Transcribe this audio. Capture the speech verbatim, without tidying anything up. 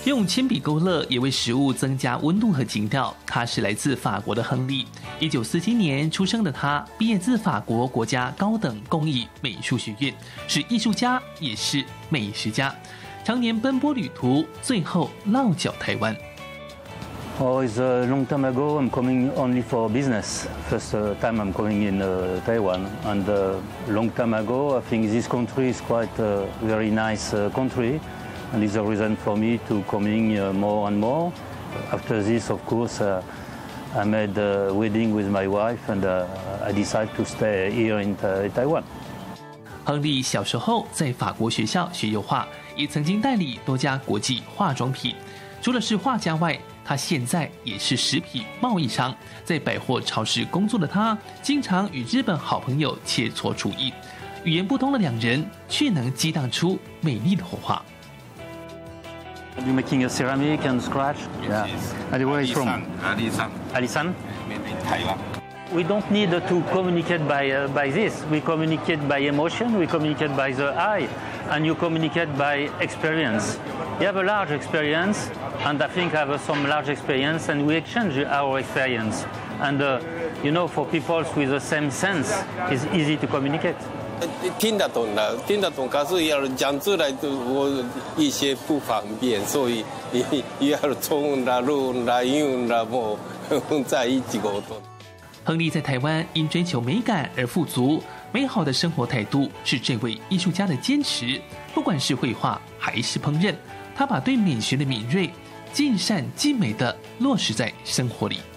用鉛筆勾勒也為食物增加溫度和情調。他是來自法國的亨利，一九四七年出生的他，畢業自法國國家高等工藝美術學院，是藝術家，也是美食家，常年奔波旅途，最後落腳台灣。 Oh, it's a long time ago. I'm coming only for business. First uh, time I'm coming in uh, Taiwan, and a uh, long time ago, I think this country is quite a very nice uh, country, and it's a reason for me to coming uh, more and more. After this, of course, uh, I made a wedding with my wife, and uh, I decided to stay here in, uh, in Taiwan. 亨利小時候在法國學校學油畫，也曾經代理多家國際化妝品。除了是畫家外，他現在也是食品貿易商，在百貨超市工作的他，經常與日本好朋友切磋廚藝。語言不通的兩人，卻能激盪出美麗的火花。 You're making a ceramic and scratch? Yeah. And where is from? Alisan. Alisan? Maybe Taiwan. We don't need to communicate by uh, by this. We communicate by emotion. We communicate by the eye, and you communicate by experience. You have a large experience, and I think I have some large experience, and we exchange our experience. And uh, you know, for people with the same sense, it's easy to communicate. 聽得懂了，聽得懂，可是要講出來的我一些不方便，所以要中文啦、日文啦、英文啦，我在一起溝通。 亨利在台灣因追求美感而富足，美好的生活態度是這位藝術家的堅持。不管是繪畫還是烹飪，他把對美學的敏銳、盡善盡美的落實在生活裡。